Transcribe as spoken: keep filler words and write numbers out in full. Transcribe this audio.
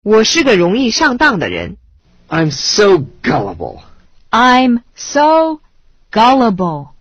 我是个容易上当的人。 I'm so gullible. I'm so gullible.